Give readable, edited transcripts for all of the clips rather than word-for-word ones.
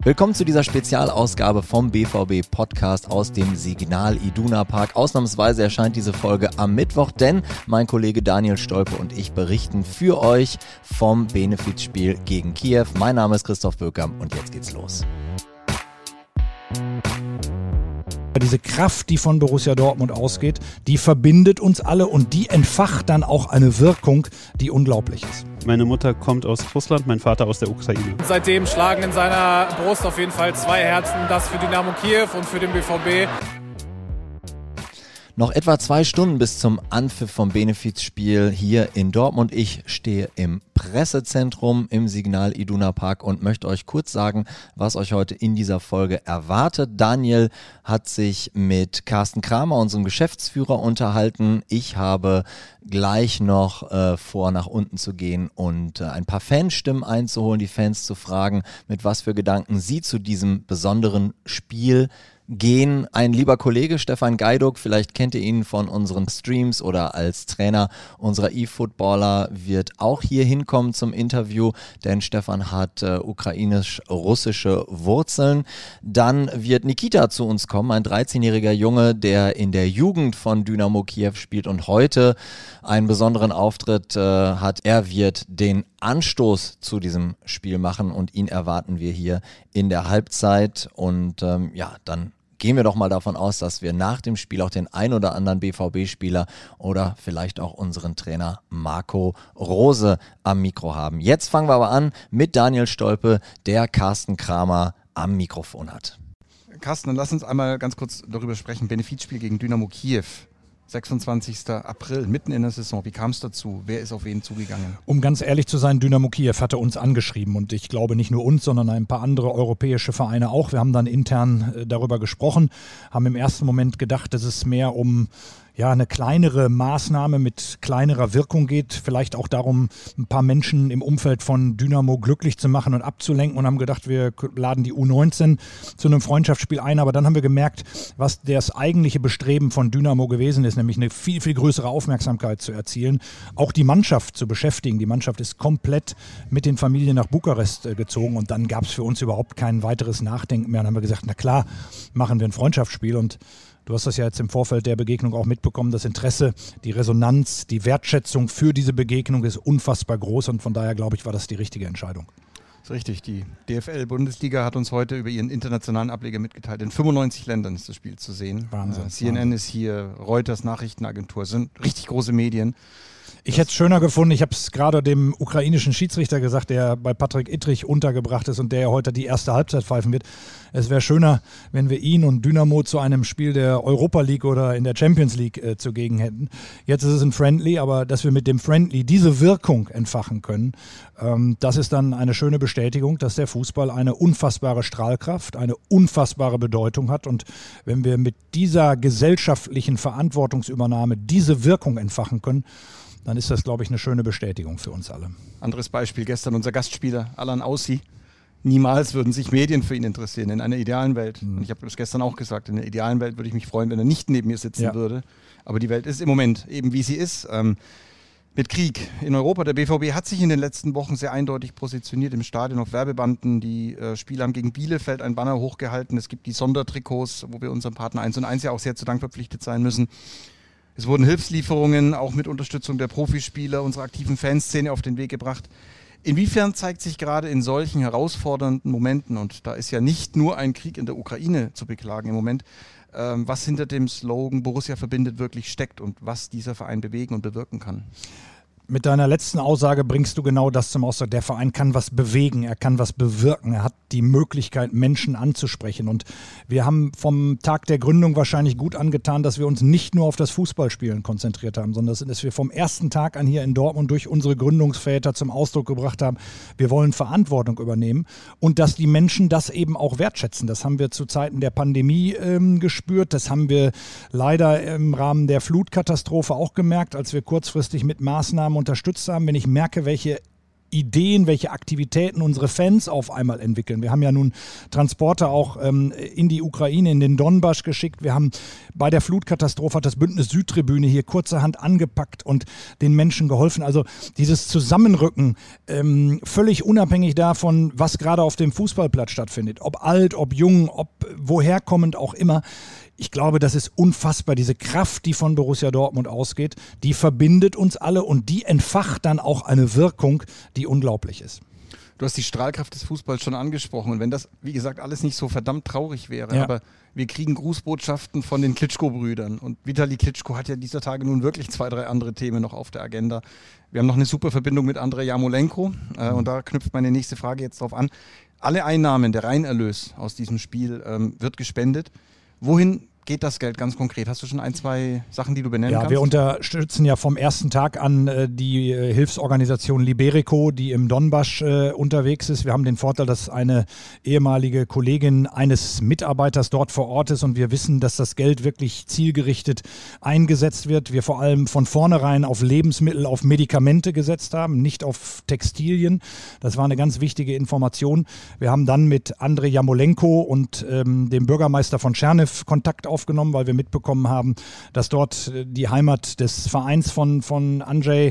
Willkommen zu dieser Spezialausgabe vom BVB-Podcast aus dem Signal Iduna Park. Ausnahmsweise erscheint diese Folge am Mittwoch, denn mein Kollege Daniel Stolpe und ich berichten für euch vom Benefizspiel gegen Kiew. Mein Name ist Christoph Böckam und jetzt geht's los. Diese Kraft, die von Borussia Dortmund ausgeht, die verbindet uns alle und die entfacht dann auch eine Wirkung, die unglaublich ist. Meine Mutter kommt aus Russland, mein Vater aus der Ukraine. Seitdem schlagen in seiner Brust auf jeden Fall zwei Herzen, das für Dynamo Kiew und für den BVB. Noch etwa 2 Stunden bis zum Anpfiff vom Benefizspiel hier in Dortmund. Ich stehe im Pressezentrum im Signal Iduna Park und möchte euch kurz sagen, was euch heute in dieser Folge erwartet. Daniel hat sich mit Carsten Kramer, unserem Geschäftsführer, unterhalten. Ich habe gleich noch vor, nach unten zu gehen und ein paar Fanstimmen einzuholen, die Fans zu fragen, mit was für Gedanken sie zu diesem besonderen Spiel gehen. Ein lieber Kollege, Stefan Gajduk, vielleicht kennt ihr ihn von unseren Streams oder als Trainer unserer E-Footballer, wird auch hier hinkommen zum Interview, denn Stefan hat ukrainisch-russische Wurzeln. Dann wird Nikita zu uns kommen, ein 13-jähriger Junge, der in der Jugend von Dynamo Kiew spielt und heute einen besonderen Auftritt hat. Er wird den Anstoß zu diesem Spiel machen und ihn erwarten wir hier in der Halbzeit und dann gehen wir doch mal davon aus, dass wir nach dem Spiel auch den ein oder anderen BVB-Spieler oder vielleicht auch unseren Trainer Marco Rose am Mikro haben. Jetzt fangen wir aber an mit Daniel Stolpe, der Carsten Kramer am Mikrofon hat. Carsten, dann lass uns einmal ganz kurz darüber sprechen. Benefizspiel gegen Dynamo Kiew. 26. April, mitten in der Saison. Wie kam es dazu? Wer ist auf wen zugegangen? Um ganz ehrlich zu sein, Dynamo Kiew hatte uns angeschrieben und ich glaube nicht nur uns, sondern ein paar andere europäische Vereine auch. Wir haben dann intern darüber gesprochen, haben im ersten Moment gedacht, dass es mehr um eine kleinere Maßnahme mit kleinerer Wirkung geht, vielleicht auch darum, ein paar Menschen im Umfeld von Dynamo glücklich zu machen und abzulenken und haben gedacht, wir laden die U19 zu einem Freundschaftsspiel ein, aber dann haben wir gemerkt, was das eigentliche Bestreben von Dynamo gewesen ist, nämlich eine viel, viel größere Aufmerksamkeit zu erzielen, auch die Mannschaft zu beschäftigen. Die Mannschaft ist komplett mit den Familien nach Bukarest gezogen und dann gab es für uns überhaupt kein weiteres Nachdenken mehr und haben wir gesagt, na klar, machen wir ein Freundschaftsspiel und du hast das ja jetzt im Vorfeld der Begegnung auch mitbekommen. Das Interesse, die Resonanz, die Wertschätzung für diese Begegnung ist unfassbar groß und von daher, glaube ich, war das die richtige Entscheidung. Das ist richtig. Die DFL-Bundesliga hat uns heute über ihren internationalen Ableger mitgeteilt. In 95 Ländern ist das Spiel zu sehen. Wahnsinn. CNN ist hier, Reuters Nachrichtenagentur, sind richtig große Medien. Ich hätte es schöner gefunden, ich habe es gerade dem ukrainischen Schiedsrichter gesagt, der bei Patrick Ittrich untergebracht ist und der ja heute die erste Halbzeit pfeifen wird. Es wäre schöner, wenn wir ihn und Dynamo zu einem Spiel der Europa League oder in der Champions League zugegen hätten. Jetzt ist es ein Friendly, aber dass wir mit dem Friendly diese Wirkung entfachen können, das ist dann eine schöne Bestätigung, dass der Fußball eine unfassbare Strahlkraft, eine unfassbare Bedeutung hat und wenn wir mit dieser gesellschaftlichen Verantwortungsübernahme diese Wirkung entfachen können, dann ist das, glaube ich, eine schöne Bestätigung für uns alle. Anderes Beispiel, gestern unser Gastspieler Alan Aussi. Niemals würden sich Medien für ihn interessieren, in einer idealen Welt. Und ich habe das gestern auch gesagt, in der idealen Welt würde ich mich freuen, wenn er nicht neben mir sitzen würde. Aber die Welt ist im Moment eben, wie sie ist, mit Krieg in Europa. Der BVB hat sich in den letzten Wochen sehr eindeutig positioniert im Stadion auf Werbebanden. Die Spieler haben gegen Bielefeld ein Banner hochgehalten. Es gibt die Sondertrikots, wo wir unserem Partner 1&1 ja auch sehr zu Dank verpflichtet sein müssen. Es wurden Hilfslieferungen auch mit Unterstützung der Profispieler unserer aktiven Fanszene auf den Weg gebracht. Inwiefern zeigt sich gerade in solchen herausfordernden Momenten, und da ist ja nicht nur ein Krieg in der Ukraine zu beklagen im Moment, was hinter dem Slogan Borussia verbindet wirklich steckt und was dieser Verein bewegen und bewirken kann? Mit deiner letzten Aussage bringst du genau das zum Ausdruck. Der Verein kann was bewegen, er kann was bewirken, er hat die Möglichkeit, Menschen anzusprechen. Und wir haben vom Tag der Gründung wahrscheinlich gut angetan, dass wir uns nicht nur auf das Fußballspielen konzentriert haben, sondern dass wir vom ersten Tag an hier in Dortmund durch unsere Gründungsväter zum Ausdruck gebracht haben, wir wollen Verantwortung übernehmen und dass die Menschen das eben auch wertschätzen. Das haben wir zu Zeiten der Pandemie gespürt, das haben wir leider im Rahmen der Flutkatastrophe auch gemerkt, als wir kurzfristig mit Maßnahmen unterstützt haben. Wenn ich merke, welche Ideen, welche Aktivitäten unsere Fans auf einmal entwickeln. Wir haben ja nun Transporter auch in die Ukraine, in den Donbass geschickt. Wir haben bei der Flutkatastrophe hat das Bündnis Südtribüne hier kurzerhand angepackt und den Menschen geholfen. Also dieses Zusammenrücken, völlig unabhängig davon, was gerade auf dem Fußballplatz stattfindet, ob alt, ob jung, ob woher kommend auch immer. Ich glaube, das ist unfassbar. Diese Kraft, die von Borussia Dortmund ausgeht, die verbindet uns alle und die entfacht dann auch eine Wirkung, die unglaublich ist. Du hast die Strahlkraft des Fußballs schon angesprochen. Und wenn das, wie gesagt, alles nicht so verdammt traurig wäre, aber wir kriegen Grußbotschaften von den Klitschko-Brüdern. Und Vitali Klitschko hat ja dieser Tage nun wirklich 2, 3 andere Themen noch auf der Agenda. Wir haben noch eine super Verbindung mit Andrei Jarmolenko. Und da knüpft meine nächste Frage jetzt drauf an. Alle Einnahmen, der Reinerlös aus diesem Spiel wird gespendet. Wohin geht das Geld ganz konkret? Hast du schon 1, 2 Sachen, die du benennen kannst? Ja, wir unterstützen ja vom ersten Tag an die Hilfsorganisation Liberico, die im Donbass unterwegs ist. Wir haben den Vorteil, dass eine ehemalige Kollegin eines Mitarbeiters dort vor Ort ist und wir wissen, dass das Geld wirklich zielgerichtet eingesetzt wird. Wir vor allem von vornherein auf Lebensmittel, auf Medikamente gesetzt haben, nicht auf Textilien. Das war eine ganz wichtige Information. Wir haben dann mit Andrei Jarmolenko und dem Bürgermeister von Tscherniw Kontakt aufgenommen, weil wir mitbekommen haben, dass dort die Heimat des Vereins von Andrzej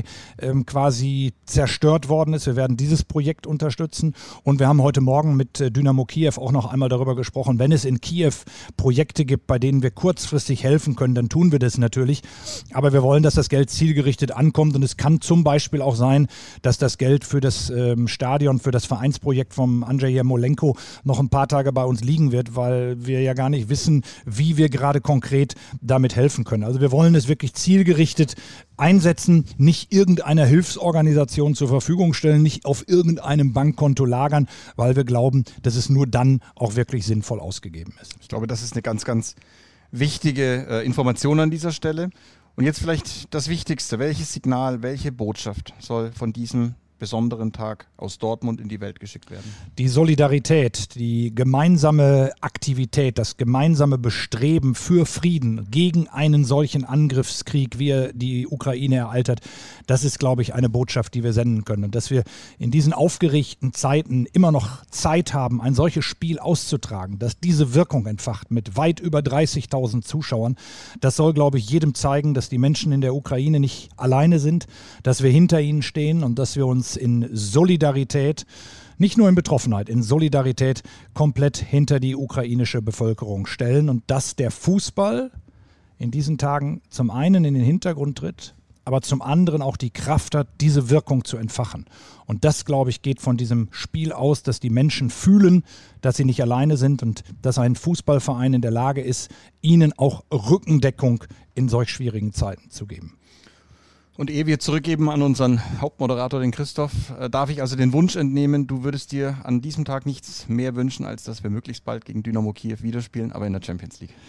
quasi zerstört worden ist. Wir werden dieses Projekt unterstützen und wir haben heute Morgen mit Dynamo Kiew auch noch einmal darüber gesprochen, wenn es in Kiew Projekte gibt, bei denen wir kurzfristig helfen können, dann tun wir das natürlich. Aber wir wollen, dass das Geld zielgerichtet ankommt und es kann zum Beispiel auch sein, dass das Geld für das Stadion, für das Vereinsprojekt vom Andrzej Jarmolenko noch ein paar Tage bei uns liegen wird, weil wir ja gar nicht wissen, wie wir gerade konkret damit helfen können. Also wir wollen es wirklich zielgerichtet einsetzen, nicht irgendeiner Hilfsorganisation zur Verfügung stellen, nicht auf irgendeinem Bankkonto lagern, weil wir glauben, dass es nur dann auch wirklich sinnvoll ausgegeben ist. Ich glaube, das ist eine ganz, ganz wichtige Information an dieser Stelle. Und jetzt vielleicht das Wichtigste. Welches Signal, welche Botschaft soll von diesem besonderen Tag aus Dortmund in die Welt geschickt werden? Die Solidarität, die gemeinsame Aktivität, das gemeinsame Bestreben für Frieden gegen einen solchen Angriffskrieg, wie er die Ukraine ereilt hat, das ist, glaube ich, eine Botschaft, die wir senden können. Und dass wir in diesen aufgeregten Zeiten immer noch Zeit haben, ein solches Spiel auszutragen, dass diese Wirkung entfacht mit weit über 30.000 Zuschauern, das soll, glaube ich, jedem zeigen, dass die Menschen in der Ukraine nicht alleine sind, dass wir hinter ihnen stehen und dass wir uns in Solidarität, nicht nur in Betroffenheit, in Solidarität komplett hinter die ukrainische Bevölkerung stellen und dass der Fußball in diesen Tagen zum einen in den Hintergrund tritt, aber zum anderen auch die Kraft hat, diese Wirkung zu entfachen. Und das, glaube ich, geht von diesem Spiel aus, dass die Menschen fühlen, dass sie nicht alleine sind und dass ein Fußballverein in der Lage ist, ihnen auch Rückendeckung in solch schwierigen Zeiten zu geben. Und ehe wir zurückgeben an unseren Hauptmoderator, den Christoph, darf ich also den Wunsch entnehmen, du würdest dir an diesem Tag nichts mehr wünschen, als dass wir möglichst bald gegen Dynamo Kiew wieder spielen, aber in der Champions League.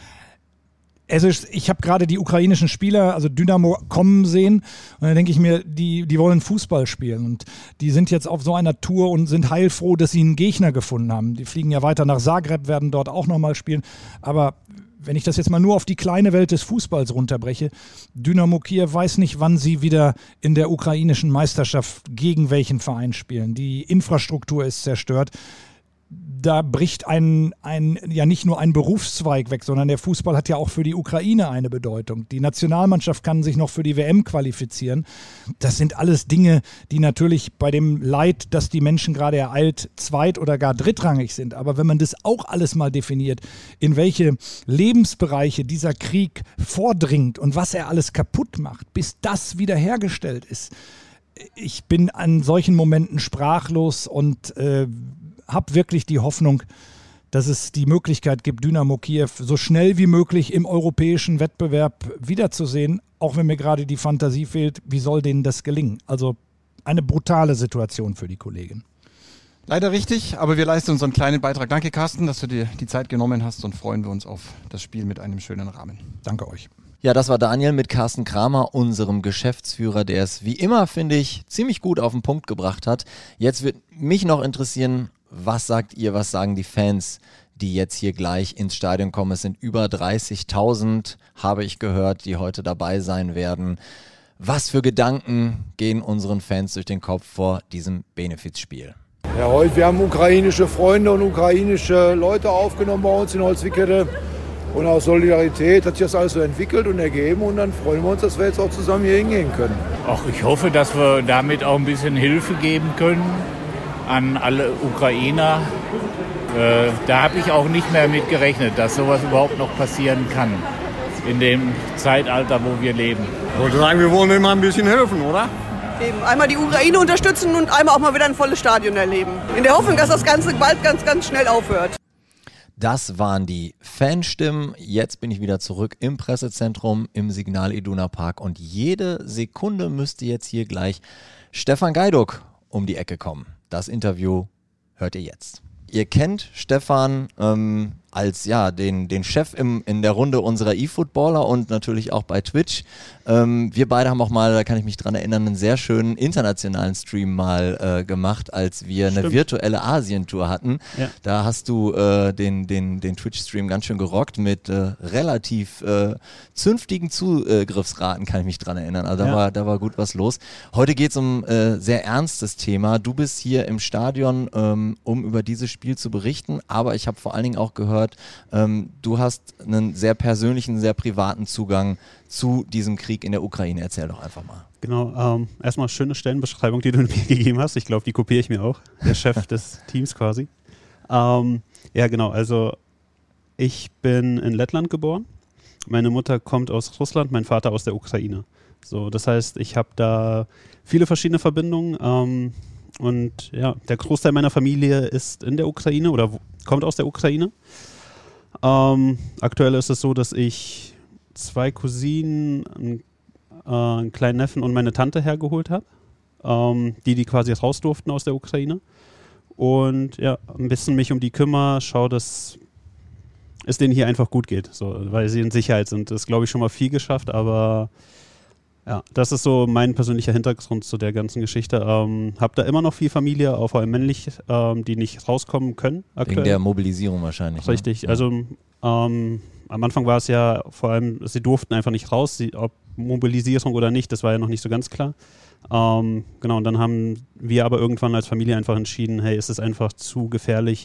Ich habe gerade die ukrainischen Spieler, also Dynamo, kommen sehen und dann denke ich mir, die wollen Fußball spielen und die sind jetzt auf so einer Tour und sind heilfroh, dass sie einen Gegner gefunden haben. Die fliegen ja weiter nach Zagreb, werden dort auch nochmal spielen, aber wenn ich das jetzt mal nur auf die kleine Welt des Fußballs runterbreche, Dynamo Kiew weiß nicht, wann sie wieder in der ukrainischen Meisterschaft gegen welchen Verein spielen. Die Infrastruktur ist zerstört. Da bricht ja nicht nur ein Berufszweig weg, sondern der Fußball hat ja auch für die Ukraine eine Bedeutung. Die Nationalmannschaft kann sich noch für die WM qualifizieren. Das sind alles Dinge, die natürlich bei dem Leid, das die Menschen gerade ereilt, zweit- oder gar drittrangig sind. Aber wenn man das auch alles mal definiert, in welche Lebensbereiche dieser Krieg vordringt und was er alles kaputt macht, bis das wiederhergestellt ist. Ich bin an solchen Momenten sprachlos und habe wirklich die Hoffnung, dass es die Möglichkeit gibt, Dynamo Kiew so schnell wie möglich im europäischen Wettbewerb wiederzusehen, auch wenn mir gerade die Fantasie fehlt, wie soll denen das gelingen? Also eine brutale Situation für die Kollegin. Leider richtig, aber wir leisten unseren kleinen Beitrag. Danke, Carsten, dass du dir die Zeit genommen hast und freuen wir uns auf das Spiel mit einem schönen Rahmen. Danke euch. Ja, das war Daniel mit Carsten Kramer, unserem Geschäftsführer, der es wie immer, finde ich, ziemlich gut auf den Punkt gebracht hat. Jetzt wird mich noch interessieren, was sagt ihr, was sagen die Fans, die jetzt hier gleich ins Stadion kommen? Es sind über 30.000, habe ich gehört, die heute dabei sein werden. Was für Gedanken gehen unseren Fans durch den Kopf vor diesem Benefizspiel? Ja, heute, wir haben ukrainische Freunde und ukrainische Leute aufgenommen bei uns in Holzwickede. Und aus Solidarität hat sich das alles so entwickelt und ergeben. Und dann freuen wir uns, dass wir jetzt auch zusammen hier hingehen können. Ach, ich hoffe, dass wir damit auch ein bisschen Hilfe geben können an alle Ukrainer. Da habe ich auch nicht mehr mit gerechnet, dass sowas überhaupt noch passieren kann in dem Zeitalter, wo wir leben. Ich wollte sagen, wir wollen immer ein bisschen helfen, oder? Eben einmal die Ukraine unterstützen und einmal auch mal wieder ein volles Stadion erleben. In der Hoffnung, dass das Ganze bald ganz, ganz schnell aufhört. Das waren die Fanstimmen. Jetzt bin ich wieder zurück im Pressezentrum im Signal Iduna Park und jede Sekunde müsste jetzt hier gleich Stefan Gajduk um die Ecke kommen. Das Interview hört ihr jetzt. Ihr kennt Stefan als den Chef in der Runde unserer eFootballer und natürlich auch bei Twitch. Wir beide haben auch mal, da kann ich mich dran erinnern, einen sehr schönen internationalen Stream mal gemacht, als wir eine virtuelle Asien-Tour hatten. Ja. Da hast du den Twitch-Stream ganz schön gerockt mit relativ zünftigen Zugriffsraten, kann ich mich dran erinnern. Also da war gut was los. Heute geht es um sehr ernstes Thema. Du bist hier im Stadion, um über dieses Spiel zu berichten, aber ich habe vor allen Dingen auch gehört, du hast einen sehr persönlichen, sehr privaten Zugang zu diesem Krieg in der Ukraine. Erzähl doch einfach mal. Genau, erstmal schöne Stellenbeschreibung, die du mir gegeben hast. Ich glaube, die kopiere ich mir auch. Der Chef des Teams quasi. Ja, genau, also ich bin in Lettland geboren. Meine Mutter kommt aus Russland, mein Vater aus der Ukraine. So, das heißt, ich habe da viele verschiedene Verbindungen. Und ja, der Großteil meiner Familie ist in der Ukraine oder kommt aus der Ukraine. Aktuell ist es so, dass ich 2 Cousinen, einen kleinen Neffen und meine Tante hergeholt habe, die quasi raus durften aus der Ukraine. Und ja, ein bisschen mich um die kümmere, schaue, dass es denen hier einfach gut geht, so, weil sie in Sicherheit sind. Das ist, glaube ich, schon mal viel geschafft, aber ja, das ist so mein persönlicher Hintergrund zu der ganzen Geschichte. Hab da immer noch viel Familie, auch vor allem männlich, die nicht rauskommen können aktuell. Wegen der Mobilisierung wahrscheinlich. Richtig, ne? Also am Anfang war es ja vor allem, sie durften einfach nicht raus, ob Mobilisierung oder nicht, das war ja noch nicht so ganz klar. Genau, und dann haben wir aber irgendwann als Familie einfach entschieden, hey, es ist einfach zu gefährlich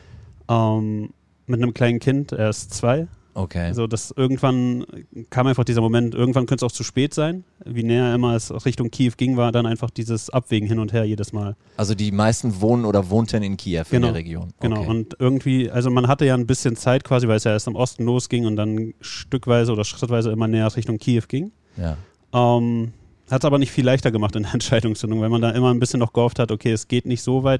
mit einem kleinen Kind, er ist 2. Okay. Also das irgendwann kam einfach dieser Moment, irgendwann könnte es auch zu spät sein. Wie näher immer es Richtung Kiew ging, war dann einfach dieses Abwägen hin und her jedes Mal. Also die meisten wohnen oder wohnten in Kiew, in der Region. Genau, okay. Und irgendwie, also man hatte ja ein bisschen Zeit quasi, weil es ja erst im Osten losging und dann stückweise oder schrittweise immer näher Richtung Kiew ging. Ja. Hat es aber nicht viel leichter gemacht in der Entscheidungsfindung, weil man da immer ein bisschen noch gehofft hat, okay, es geht nicht so weit.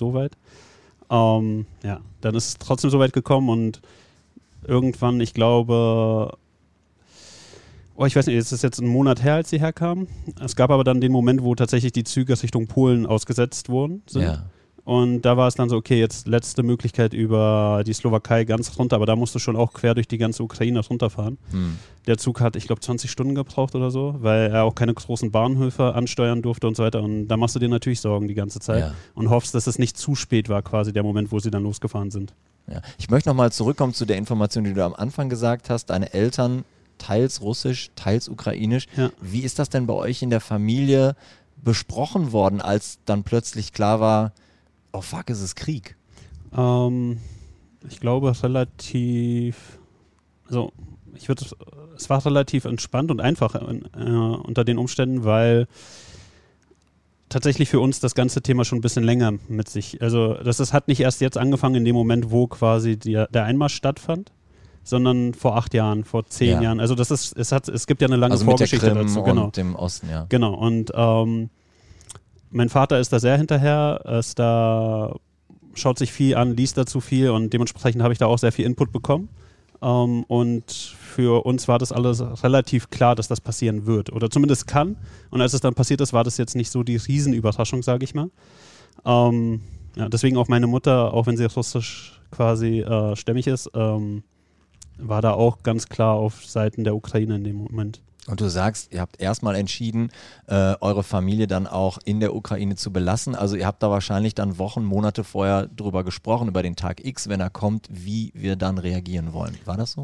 Ja, dann ist es trotzdem so weit gekommen und irgendwann, ich glaube, ich weiß nicht, es ist jetzt ein Monat her, als sie herkamen. Es gab aber dann den Moment, wo tatsächlich die Züge Richtung Polen ausgesetzt worden sind. Ja. Und da war es dann so, okay, jetzt letzte Möglichkeit über die Slowakei ganz runter, aber da musst du schon auch quer durch die ganze Ukraine runterfahren. Der Zug hat, ich glaube, 20 Stunden gebraucht oder so, weil er auch keine großen Bahnhöfe ansteuern durfte und so weiter. Und da machst du dir natürlich Sorgen die ganze Zeit und hoffst, dass es nicht zu spät war, quasi der Moment, wo sie dann losgefahren sind. Ja. Ich möchte nochmal zurückkommen zu der Information, die du am Anfang gesagt hast. Deine Eltern teils russisch, teils ukrainisch. Ja. Wie ist das denn bei euch in der Familie besprochen worden, als dann plötzlich klar war, oh fuck, ist es Krieg? Ich glaube relativ, also es war relativ entspannt und einfach unter den Umständen, weil tatsächlich für uns das ganze Thema schon ein bisschen länger mit sich, also das hat nicht erst jetzt angefangen in dem Moment, wo quasi der Einmarsch stattfand, sondern vor 8 Jahren, vor 10 Jahren. Also es gibt ja eine lange Vorgeschichte mit der Krim dazu. Genau. Und dem Osten, ja. Genau, und mein Vater ist da sehr hinterher, schaut sich viel an, liest dazu viel und dementsprechend habe ich da auch sehr viel Input bekommen. Und für uns war das alles relativ klar, dass das passieren wird oder zumindest kann. Und als es dann passiert ist, war das jetzt nicht so die Riesenüberraschung, sage ich mal. Deswegen auch meine Mutter, auch wenn sie russisch quasi stämmig ist, war da auch ganz klar auf Seiten der Ukraine in dem Moment. Und du sagst, ihr habt erstmal entschieden, eure Familie dann auch in der Ukraine zu belassen. Also ihr habt da wahrscheinlich dann Wochen, Monate vorher drüber gesprochen, über den Tag X, wenn er kommt, wie wir dann reagieren wollen. War das so?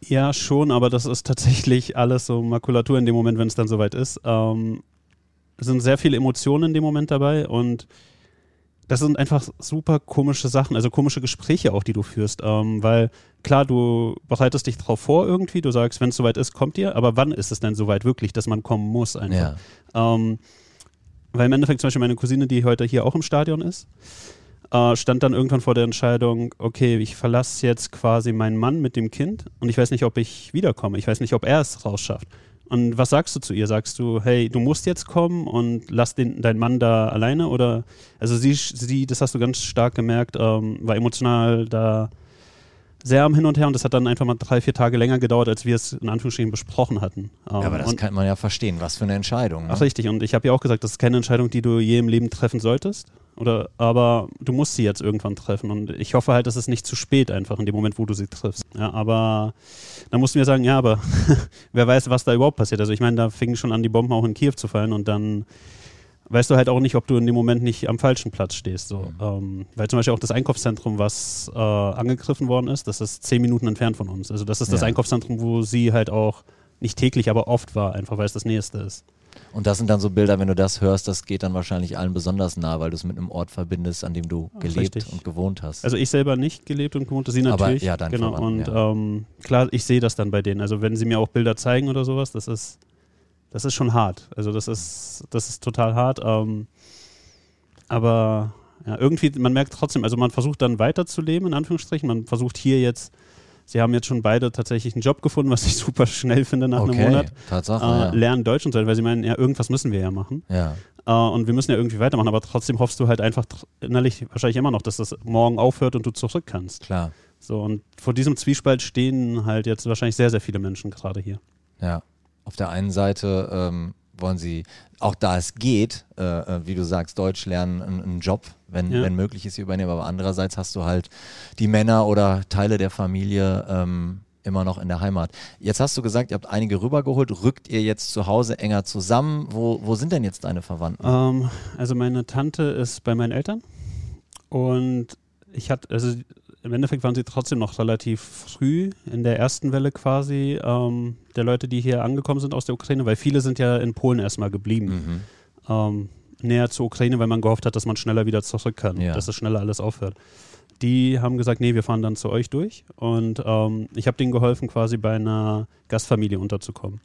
Ja, schon, aber das ist tatsächlich alles so Makulatur in dem Moment, wenn es dann soweit ist. Es sind sehr viele Emotionen in dem Moment dabei und das sind einfach super komische Sachen, also komische Gespräche auch, die du führst, weil klar, du bereitest dich drauf vor irgendwie, du sagst, wenn es soweit ist, kommt ihr, aber wann ist es denn soweit wirklich, dass man kommen muss einfach? Ja. Weil im Endeffekt zum Beispiel meine Cousine, die heute hier auch im Stadion ist, stand dann irgendwann vor der Entscheidung, okay, ich verlasse jetzt quasi meinen Mann mit dem Kind und ich weiß nicht, ob ich wiederkomme, ich weiß nicht, ob er es rausschafft. Und was sagst du zu ihr? Sagst du, hey, du musst jetzt kommen und lass deinen Mann da alleine? Oder, also sie, das hast du ganz stark gemerkt, war emotional da sehr am Hin und Her und das hat dann einfach mal 3-4 Tage länger gedauert, als wir es in Anführungsstrichen besprochen hatten. Ja, aber das kann man ja verstehen, was für eine Entscheidung. Ne? Ach richtig, und ich habe ja auch gesagt, das ist keine Entscheidung, die du je im Leben treffen solltest. Aber du musst sie jetzt irgendwann treffen und ich hoffe halt, dass es nicht zu spät einfach in dem Moment, wo du sie triffst. Ja, aber dann mussten wir sagen, ja, aber wer weiß, was da überhaupt passiert. Also ich meine, da fingen schon an, die Bomben auch in Kiew zu fallen und dann weißt du halt auch nicht, ob du in dem Moment nicht am falschen Platz stehst. So. Weil zum Beispiel auch das Einkaufszentrum, was angegriffen worden ist, das ist 10 Minuten entfernt von uns. Also das ist das Einkaufszentrum, wo sie halt auch nicht täglich, aber oft war, einfach weil es das Nächste ist. Und das sind dann so Bilder, wenn du das hörst, das geht dann wahrscheinlich allen besonders nah, weil du es mit einem Ort verbindest, an dem du gelebt und gewohnt hast. Also ich selber nicht gelebt und gewohnt, sie natürlich. Aber ja, dein genau. Und klar, ich sehe das dann bei denen. Also wenn sie mir auch Bilder zeigen oder sowas, das ist schon hart. Also das ist total hart. Aber ja, irgendwie, man merkt trotzdem, also man versucht dann weiterzuleben, in Anführungsstrichen. Man versucht hier jetzt, sie haben jetzt schon beide tatsächlich einen Job gefunden, was ich super schnell finde nach einem Monat. Tatsache, lernen Deutsch und so, weil sie meinen, ja, irgendwas müssen wir ja machen. Ja. Und wir müssen ja irgendwie weitermachen, aber trotzdem hoffst du halt einfach innerlich wahrscheinlich immer noch, dass das morgen aufhört und du zurück kannst. Klar. So, und vor diesem Zwiespalt stehen halt jetzt wahrscheinlich sehr, sehr viele Menschen gerade hier. Ja. Auf der einen Seite wollen sie, auch da es geht, wie du sagst, Deutsch lernen, einen Job, wenn möglich ist, hier übernehmen. Aber andererseits hast du halt die Männer oder Teile der Familie immer noch in der Heimat. Jetzt hast du gesagt, ihr habt einige rübergeholt. Rückt ihr jetzt zu Hause enger zusammen? Wo sind denn jetzt deine Verwandten? Also meine Tante ist bei meinen Eltern und im Endeffekt waren sie trotzdem noch relativ früh in der ersten Welle quasi der Leute, die hier angekommen sind aus der Ukraine, weil viele sind ja in Polen erstmal geblieben. Näher zur Ukraine, weil man gehofft hat, dass man schneller wieder zurück kann, dass es schneller alles aufhört. Die haben gesagt, nee, wir fahren dann zu euch durch und ich habe denen geholfen, quasi bei einer Gastfamilie unterzukommen,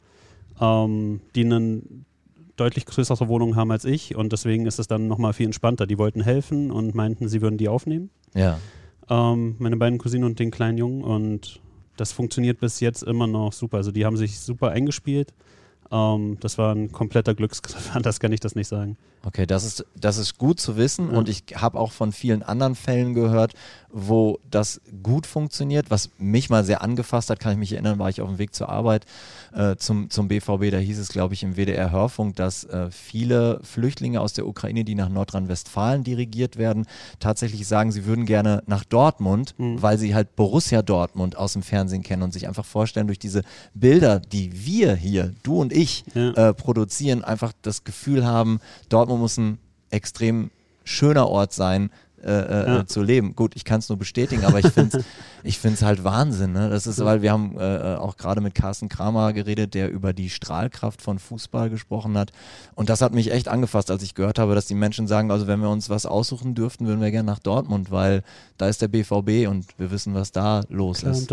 die eine deutlich größere Wohnung haben als ich und deswegen ist es dann nochmal viel entspannter. Die wollten helfen und meinten, sie würden die aufnehmen. Ja. Meine beiden Cousinen und den kleinen Jungen und das funktioniert bis jetzt immer noch super. Also die haben sich super eingespielt. Das war ein kompletter Glücksgriff, anders kann ich das nicht sagen. Okay, das ist gut zu wissen und ich habe auch von vielen anderen Fällen gehört, wo das gut funktioniert. Was mich mal sehr angefasst hat, kann ich mich erinnern, war ich auf dem Weg zur Arbeit zum BVB, da hieß es, glaube ich, im WDR-Hörfunk, dass viele Flüchtlinge aus der Ukraine, die nach Nordrhein-Westfalen dirigiert werden, tatsächlich sagen, sie würden gerne nach Dortmund, weil sie halt Borussia Dortmund aus dem Fernsehen kennen und sich einfach vorstellen, durch diese Bilder, die wir hier, du und ich, produzieren, einfach das Gefühl haben, Dortmund muss ein extrem schöner Ort sein, zu leben. Gut, ich kann es nur bestätigen, aber ich finde es halt Wahnsinn. Ne? Das ist, weil wir haben auch gerade mit Carsten Kramer geredet, der über die Strahlkraft von Fußball gesprochen hat. Und das hat mich echt angefasst, als ich gehört habe, dass die Menschen sagen, also wenn wir uns was aussuchen dürften, würden wir gerne nach Dortmund, weil da ist der BVB und wir wissen, was da los ist.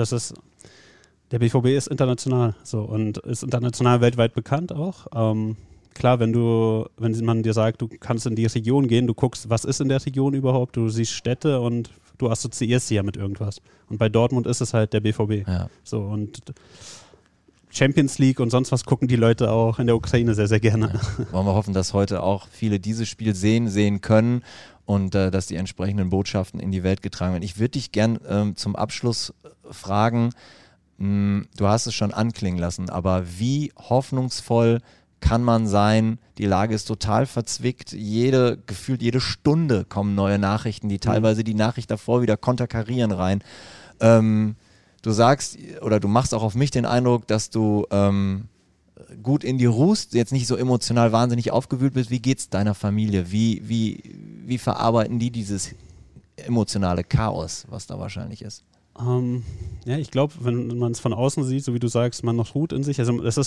Der BVB ist international so und ist international weltweit bekannt auch. Klar, wenn man dir sagt, du kannst in die Region gehen, du guckst, was ist in der Region überhaupt, du siehst Städte und du assoziierst sie ja mit irgendwas. Und bei Dortmund ist es halt der BVB. Ja. So, und Champions League und sonst was gucken die Leute auch in der Ukraine sehr, sehr gerne. Ja. Wollen wir hoffen, dass heute auch viele dieses Spiel sehen können und dass die entsprechenden Botschaften in die Welt getragen werden. Ich würde dich gern zum Abschluss fragen, du hast es schon anklingen lassen, aber wie hoffnungsvoll kann man sein, die Lage ist total verzwickt, gefühlt jede Stunde kommen neue Nachrichten, die teilweise die Nachricht davor wieder konterkarieren rein. Du sagst, oder du machst auch auf mich den Eindruck, dass du gut in die ruhst, jetzt nicht so emotional wahnsinnig aufgewühlt bist. Wie geht's deiner Familie? Wie verarbeiten die dieses emotionale Chaos, was da wahrscheinlich ist? Ja, ich glaube, wenn man es von außen sieht, so wie du sagst, man noch ruht in sich. Also es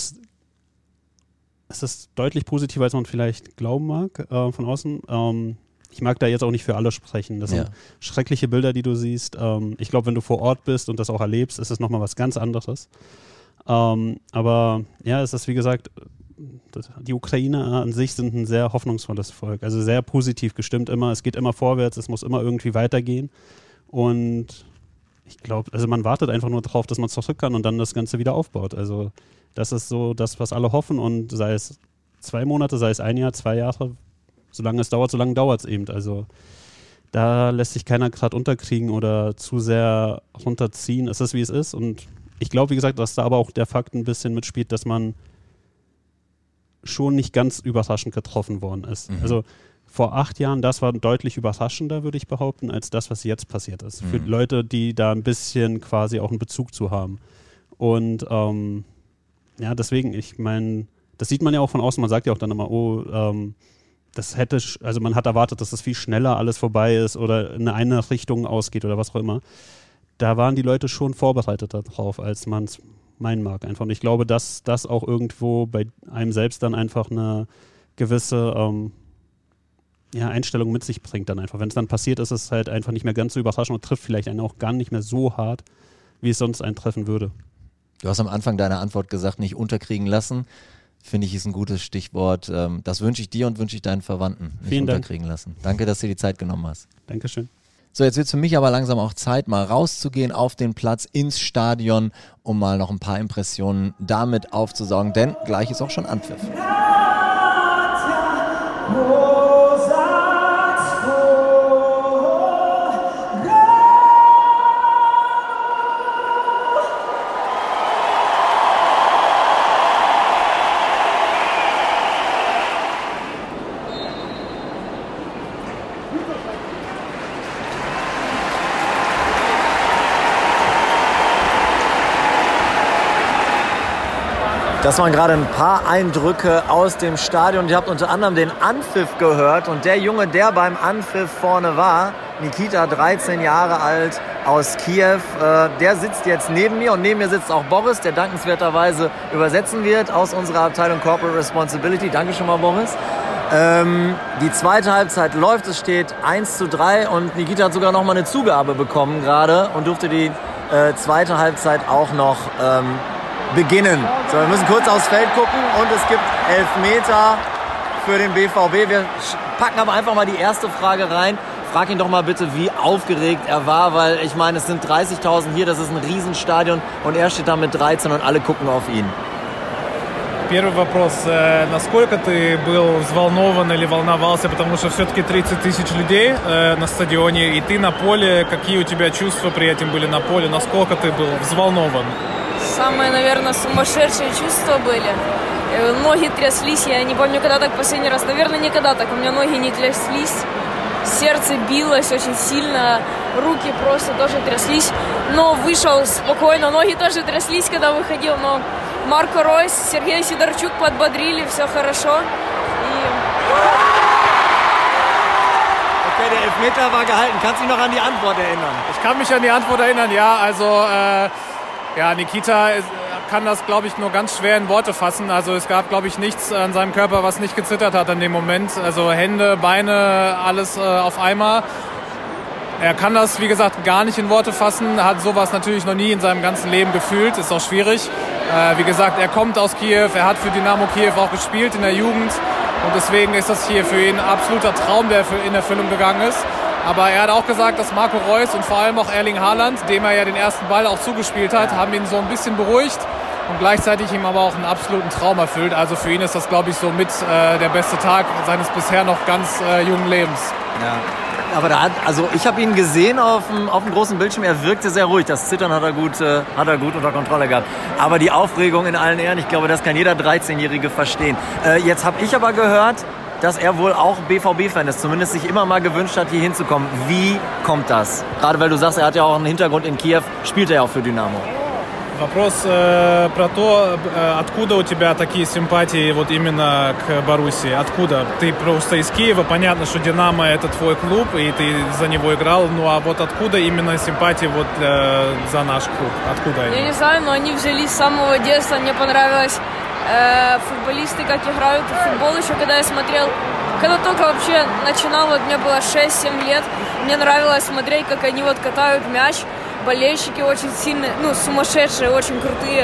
ist deutlich positiver, als man vielleicht glauben mag von außen. Ich mag da jetzt auch nicht für alle sprechen. Das sind schreckliche Bilder, die du siehst. Ich glaube, wenn du vor Ort bist und das auch erlebst, ist es nochmal was ganz anderes. Aber ja, es ist wie gesagt, die Ukrainer an sich sind ein sehr hoffnungsvolles Volk. Also sehr positiv gestimmt immer. Es geht immer vorwärts, es muss immer irgendwie weitergehen. Und ich glaube, also man wartet einfach nur drauf, dass man zurück kann und dann das Ganze wieder aufbaut. Also das ist so das, was alle hoffen, und sei es 2 Monate, sei es 1 Jahr, 2 Jahre, solange es dauert, solange dauert es eben. Also da lässt sich keiner gerade unterkriegen oder zu sehr runterziehen. Es ist, wie es ist, und ich glaube, wie gesagt, dass da aber auch der Fakt ein bisschen mitspielt, dass man schon nicht ganz überraschend getroffen worden ist. Also vor 8 Jahren, das war deutlich überraschender, würde ich behaupten, als das, was jetzt passiert ist. Für Leute, die da ein bisschen quasi auch einen Bezug zu haben. Und ja, deswegen, ich meine, das sieht man ja auch von außen, man sagt ja auch dann immer, man hat erwartet, dass das viel schneller alles vorbei ist oder in eine Richtung ausgeht oder was auch immer. Da waren die Leute schon vorbereitet darauf, als man es meinen mag einfach. Und ich glaube, dass das auch irgendwo bei einem selbst dann einfach eine gewisse Einstellung mit sich bringt dann einfach. Wenn es dann passiert, ist es halt einfach nicht mehr ganz so überraschend und trifft vielleicht einen auch gar nicht mehr so hart, wie es sonst einen treffen würde. Du hast am Anfang deiner Antwort gesagt, nicht unterkriegen lassen. Finde ich, ist ein gutes Stichwort. Das wünsche ich dir und wünsche ich deinen Verwandten. Nicht Vielen unterkriegen lassen. Danke, dass du dir die Zeit genommen hast. Dankeschön. So, jetzt wird es für mich aber langsam auch Zeit, mal rauszugehen auf den Platz, ins Stadion, um mal noch ein paar Impressionen damit aufzusaugen, denn gleich ist auch schon Anpfiff. Das waren gerade ein paar Eindrücke aus dem Stadion. Ihr habt unter anderem den Anpfiff gehört. Und der Junge, der beim Anpfiff vorne war, Nikita, 13 Jahre alt, aus Kiew, der sitzt jetzt neben mir. Und neben mir sitzt auch Boris, der dankenswerterweise übersetzen wird aus unserer Abteilung Corporate Responsibility. Danke schon mal, Boris. Die zweite Halbzeit läuft, es steht 1:3 und Nikita hat sogar noch mal eine Zugabe bekommen gerade und durfte die zweite Halbzeit auch noch beginnen. So, wir müssen kurz aufs Feld gucken und es gibt Elfmeter für den BVB. Wir packen aber einfach mal die erste Frage rein. Frag ihn doch mal bitte, wie aufgeregt er war, weil ich meine, es sind 30.000 hier, das ist ein Riesenstadion und er steht da mit 13 und alle gucken auf ihn. Первый вопрос. Насколько ты был взволнован или волновался, потому что все-таки 30 тысяч людей на стадионе, и ты на поле. Какие у тебя чувства при этом были на поле? Насколько ты был взволнован? Самые, наверное, сумасшедшие чувства были. Ноги тряслись, я не помню, когда так последний раз. Наверное, никогда так. У меня ноги не тряслись. Сердце билось очень сильно, руки просто тоже тряслись. Но вышел спокойно, ноги тоже тряслись, когда выходил, но Марко Ройс, Сергей Сидорчук подбодрили, все хорошо. Okay, der Elfmeter war gehalten. Kannst du dich noch an die Antwort erinnern? Ich kann mich an die Antwort erinnern, ja. Also, Nikita kann das, glaube ich, nur ganz schwer in Worte fassen. Also es gab, glaube ich, nichts an seinem Körper, was nicht gezittert hat in dem Moment. Also Hände, Beine, alles auf einmal. Er kann das, wie gesagt, gar nicht in Worte fassen, hat sowas natürlich noch nie in seinem ganzen Leben gefühlt, ist auch schwierig. Wie gesagt, er kommt aus Kiew, er hat für Dynamo Kiew auch gespielt in der Jugend und deswegen ist das hier für ihn ein absoluter Traum, der in Erfüllung gegangen ist. Aber er hat auch gesagt, dass Marco Reus und vor allem auch Erling Haaland, dem er ja den ersten Ball auch zugespielt hat, haben ihn so ein bisschen beruhigt und gleichzeitig ihm aber auch einen absoluten Traum erfüllt. Also für ihn ist das, glaube ich, so mit der beste Tag seines bisher noch ganz jungen Lebens. Ja. Aber ich habe ihn gesehen auf dem großen Bildschirm, er wirkte sehr ruhig. Das Zittern hat er gut unter Kontrolle gehabt. Aber die Aufregung in allen Ehren, ich glaube, das kann jeder 13-Jährige verstehen. Jetzt habe ich aber gehört, dass er wohl auch BVB-Fan ist, zumindest sich immer mal gewünscht hat, hier hinzukommen. Wie kommt das? Gerade weil du sagst, er hat ja auch einen Hintergrund in Kiew, spielt er ja auch für Dynamo. Вопрос про то, откуда у тебя такие симпатии вот именно к Боруссии? Откуда? Ты просто из Киева, понятно, что «Динамо» — это твой клуб, и ты за него играл, ну а вот откуда именно симпатии вот за наш клуб? Откуда они? Я не знаю, но они взялись с самого детства. Мне понравилось футболисты, как играют в футбол еще, когда я смотрел. Когда только вообще начинал, вот мне было 6-7 лет, мне нравилось смотреть, как они вот катают мяч. Болельщики очень сильные, ну, сумасшедшие, очень крутые.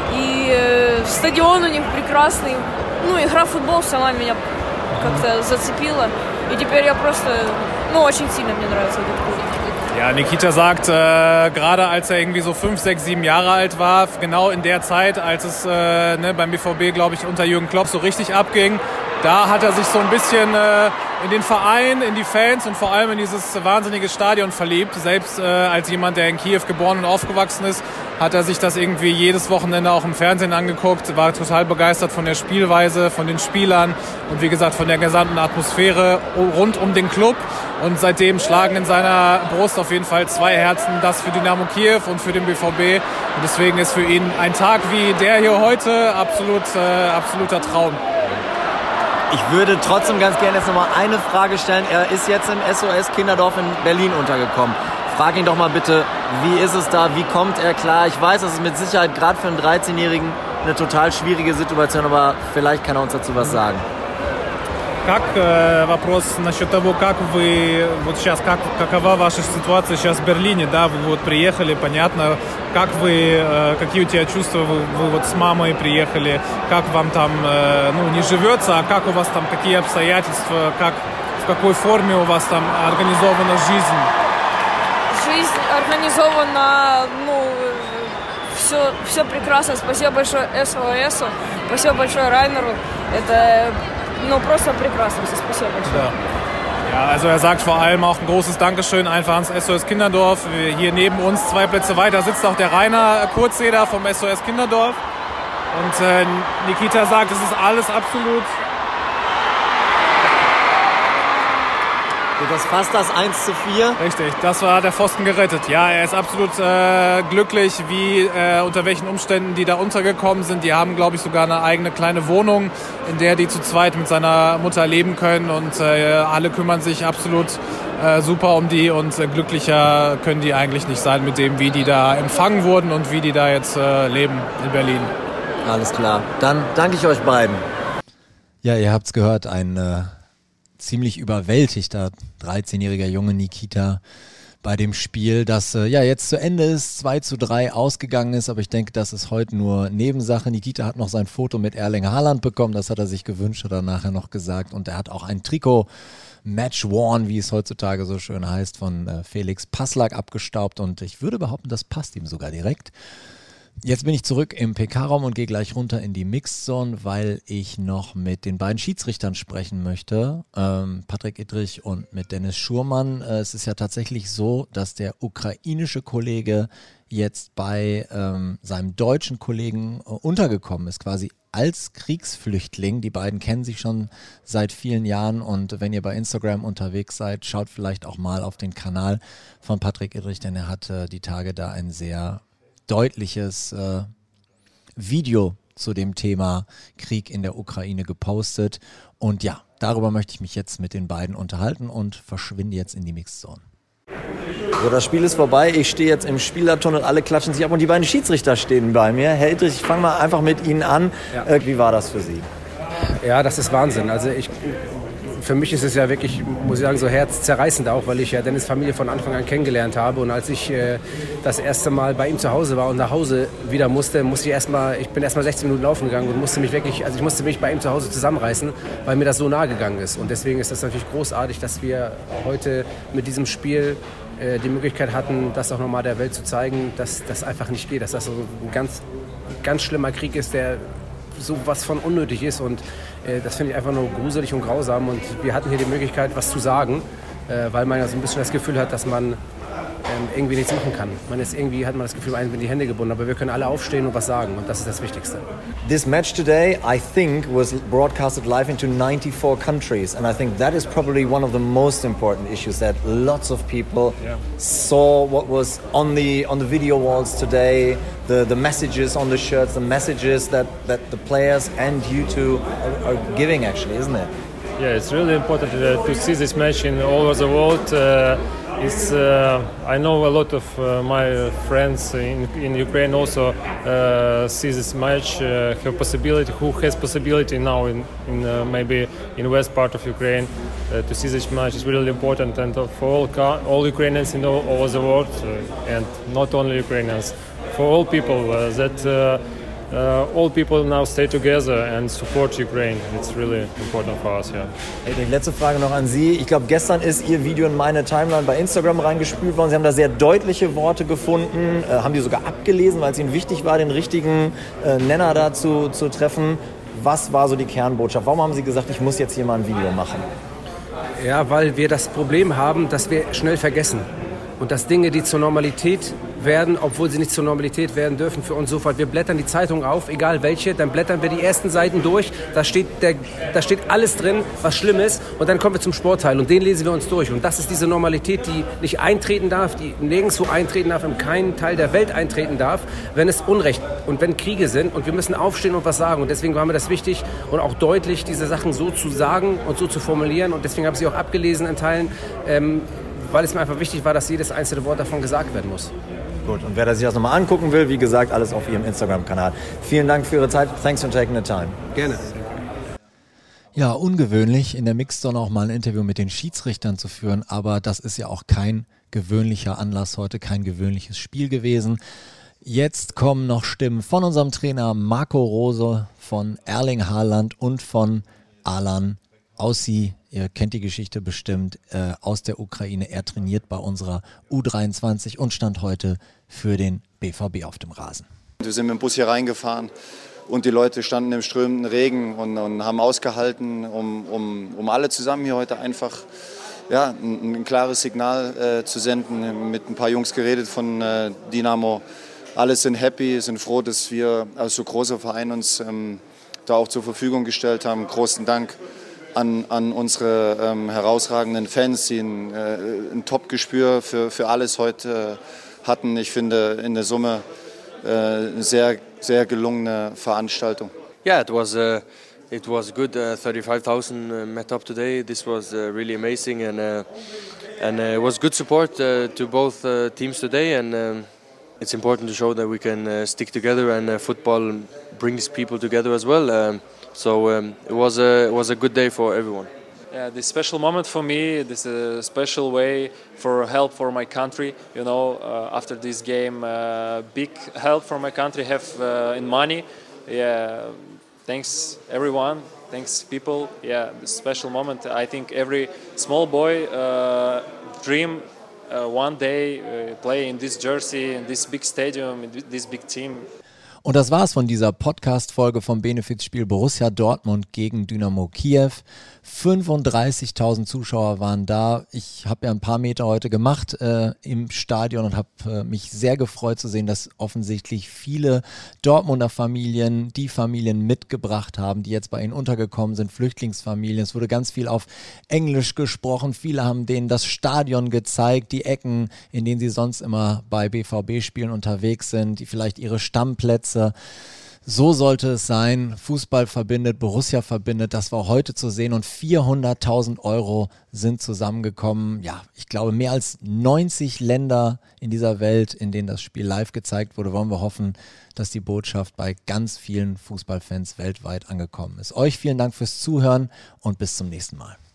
И стадион у них прекрасный. Ну, игра в футбол сама меня как-то зацепила. И теперь я просто, ну, очень sильно мне нравится этот клуб. Ja, Nikita sagt, gerade als er irgendwie so 5, 6, 7 Jahre alt war, genau in der Zeit, als es beim BVB, glaube ich, unter Jürgen Klopp so richtig abging, da hat er sich so ein bisschen in den Verein, in die Fans und vor allem in dieses wahnsinnige Stadion verliebt. Selbst als jemand, der in Kiew geboren und aufgewachsen ist, hat er sich das irgendwie jedes Wochenende auch im Fernsehen angeguckt, war total begeistert von der Spielweise, von den Spielern und wie gesagt von der gesamten Atmosphäre rund um den Club. Und seitdem schlagen in seiner Brust auf jeden Fall 2 Herzen, das für Dynamo Kiew und für den BVB. Und deswegen ist für ihn ein Tag wie der hier heute absoluter Traum. Ich würde trotzdem ganz gerne jetzt nochmal eine Frage stellen. Er ist jetzt im SOS Kinderdorf in Berlin untergekommen. Frag ihn doch mal bitte, wie ist es da, wie kommt er klar? Ich weiß, das ist mit Sicherheit gerade für einen 13-Jährigen eine total schwierige Situation, aber vielleicht kann er uns dazu was sagen. Как вопрос насчет того, как вы вот сейчас, какова ваша ситуация сейчас в Берлине, да, вы вот приехали, понятно, как вы, какие у тебя чувства, вы вот с мамой приехали, как вам там, ну, не живется, а как у вас там, какие обстоятельства, как, в какой форме у вас там организована жизнь? Жизнь организована, ну, все прекрасно, спасибо большое СОСу, спасибо большое Райнеру, это... No, просто прекрасно, спасибо большое. Ja, also er sagt vor allem auch ein großes Dankeschön einfach ans SOS Kinderdorf. Hier neben uns 2 Plätze weiter sitzt auch der Rainer Kurzeder vom SOS Kinderdorf. Und Nikita sagt, es ist alles absolut... Das fast das 1:4. Richtig, das war der Pfosten gerettet. Ja, er ist absolut glücklich, wie unter welchen Umständen die da untergekommen sind. Die haben, glaube ich, sogar eine eigene kleine Wohnung, in der die zu zweit mit seiner Mutter leben können. Und alle kümmern sich absolut super um die. Und glücklicher können die eigentlich nicht sein mit dem, wie die da empfangen wurden und wie die da jetzt leben in Berlin. Alles klar. Dann danke ich euch beiden. Ja, ihr habt's gehört, ein... ziemlich überwältigter 13-jähriger Junge Nikita bei dem Spiel, das ja jetzt zu Ende ist, 2:3 ausgegangen ist, aber ich denke, das ist heute nur Nebensache. Nikita hat noch sein Foto mit Erling Haaland bekommen, das hat er sich gewünscht, hat er nachher noch gesagt, und er hat auch ein Trikot Match Worn, wie es heutzutage so schön heißt, von Felix Passlack abgestaubt, und ich würde behaupten, das passt ihm sogar direkt. Jetzt bin ich zurück im PK-Raum und gehe gleich runter in die Mixed Zone, weil ich noch mit den beiden Schiedsrichtern sprechen möchte, Patrick Ittrich und mit Dennis Schurmann. Es ist ja tatsächlich so, dass der ukrainische Kollege jetzt bei seinem deutschen Kollegen untergekommen ist, quasi als Kriegsflüchtling. Die beiden kennen sich schon seit vielen Jahren, und wenn ihr bei Instagram unterwegs seid, schaut vielleicht auch mal auf den Kanal von Patrick Ittrich, denn er hat die Tage da ein sehr deutliches Video zu dem Thema Krieg in der Ukraine gepostet. Und ja, darüber möchte ich mich jetzt mit den beiden unterhalten und verschwinde jetzt in die Mixzone. So, das Spiel ist vorbei. Ich stehe jetzt im Spielertunnel, alle klatschen sich ab und die beiden Schiedsrichter stehen bei mir. Herr Ittrich, ich fange mal einfach mit Ihnen an. Ja. Wie war das für Sie? Ja, das ist Wahnsinn. Also für mich ist es ja wirklich, muss ich sagen, so herzzerreißend auch, weil ich ja Dennis' Familie von Anfang an kennengelernt habe. Und als ich das erste Mal bei ihm zu Hause war und nach Hause wieder musste ich bin erstmal 16 Minuten laufen gegangen und musste mich bei ihm zu Hause zusammenreißen, weil mir das so nahe gegangen ist. Und deswegen ist das natürlich großartig, dass wir heute mit diesem Spiel die Möglichkeit hatten, das auch nochmal der Welt zu zeigen, dass das einfach nicht geht, dass das so ein ganz, ganz schlimmer Krieg ist, der so was von unnötig ist, und das finde ich einfach nur gruselig und grausam, und wir hatten hier die Möglichkeit, was zu sagen, weil man ja so ein bisschen das Gefühl hat, dass man irgendwie nichts machen kann. Irgendwie hat man das Gefühl, einem sind die Hände gebunden, aber wir können alle aufstehen und was sagen, und das ist das Wichtigste. This match today, I think, was broadcasted live into 94 countries, and I think that is probably one of the most important issues, that lots of people saw what was on the video walls today, the messages on the shirts, the messages that the players and you two are giving, actually, isn't it? Yeah, it's really important to see this match in all over the world. I know a lot of my friends in Ukraine also see this match, who has possibility now in maybe in west part of Ukraine to see this match is really important, and for all Ukrainians in all over the world, and not only Ukrainians, for all people all people now stay together and support Ukraine. It's really important for us, yeah. Hey, letzte Frage noch an Sie. Ich glaube, gestern ist Ihr Video in meine Timeline bei Instagram reingespült worden. Sie haben da sehr deutliche Worte gefunden, haben die sogar abgelesen, weil es Ihnen wichtig war, den richtigen Nenner dazu zu treffen. Was war so die Kernbotschaft? Warum haben Sie gesagt, ich muss jetzt hier mal ein Video machen? Ja, weil wir das Problem haben, dass wir schnell vergessen. Und dass Dinge, die zur Normalität werden, obwohl sie nicht zur Normalität werden dürfen, für uns sofort. Wir blättern die Zeitung auf, egal welche, dann blättern wir die ersten Seiten durch, da steht alles drin, was schlimm ist, und dann kommen wir zum Sportteil und den lesen wir uns durch. Und das ist diese Normalität, die nicht eintreten darf, die nirgendwo eintreten darf, in keinem Teil der Welt eintreten darf, wenn es Unrecht und wenn Kriege sind, und wir müssen aufstehen und was sagen. Und deswegen war mir das wichtig und auch deutlich, diese Sachen so zu sagen und so zu formulieren, und deswegen habe ich sie auch abgelesen in Teilen, weil es mir einfach wichtig war, dass jedes einzelne Wort davon gesagt werden muss. Gut, und wer sich das nochmal angucken will, wie gesagt, alles auf Ihrem Instagram-Kanal. Vielen Dank für Ihre Zeit. Thanks for taking the time. Gerne. Ja, ungewöhnlich, in der Mixzone auch mal ein Interview mit den Schiedsrichtern zu führen, aber das ist ja auch kein gewöhnlicher Anlass heute, kein gewöhnliches Spiel gewesen. Jetzt kommen noch Stimmen von unserem Trainer Marco Rose, von Erling Haaland und von Alan Aussi. Ihr kennt die Geschichte bestimmt, aus der Ukraine. Er trainiert bei unserer U23 und stand heute für den BVB auf dem Rasen. Wir sind mit dem Bus hier reingefahren und die Leute standen im strömenden Regen und haben ausgehalten, um alle zusammen hier heute einfach ein klares Signal zu senden. Mit ein paar Jungs geredet von Dynamo. Alle sind happy, sind froh, dass wir als so großer Verein uns da auch zur Verfügung gestellt haben. Großen Dank an unsere herausragenden Fans, die ein Top-Gespür für alles heute hatten. Ich finde in der Summe eine sehr, sehr gelungene Veranstaltung. Yeah, it was good. 35,000 met up today. This was really amazing, and it was good support to both teams today. And it's important to show that we can stick together, and football brings people together as well. So it was a good day for everyone. Yeah, this special moment for me, this is a special way for help for my country. You know, after this game, big help for my country have in money. Yeah, thanks everyone, thanks people. Yeah, this special moment. I think every small boy dream one day play in this jersey, in this big stadium, in this big team. Und das war's von dieser Podcast-Folge vom Benefizspiel Borussia Dortmund gegen Dynamo Kiew. 35.000 Zuschauer waren da. Ich habe ja ein paar Meter heute gemacht im Stadion und habe mich sehr gefreut zu sehen, dass offensichtlich viele Dortmunder Familien die Familien mitgebracht haben, die jetzt bei ihnen untergekommen sind, Flüchtlingsfamilien. Es wurde ganz viel auf Englisch gesprochen. Viele haben denen das Stadion gezeigt, die Ecken, in denen sie sonst immer bei BVB-Spielen unterwegs sind, die vielleicht ihre Stammplätze. So sollte es sein. Fußball verbindet, Borussia verbindet. Das war heute zu sehen und 400.000 € sind zusammengekommen. Ja, ich glaube, mehr als 90 Länder in dieser Welt, in denen das Spiel live gezeigt wurde. Wollen wir hoffen, dass die Botschaft bei ganz vielen Fußballfans weltweit angekommen ist. Euch vielen Dank fürs Zuhören und bis zum nächsten Mal.